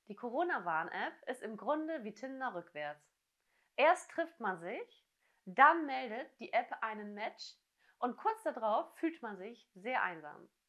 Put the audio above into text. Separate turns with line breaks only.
Die Corona-Warn-App ist im Grunde wie Tinder rückwärts. Erst trifft man sich, dann meldet die App einen Match und kurz darauf fühlt man sich sehr einsam.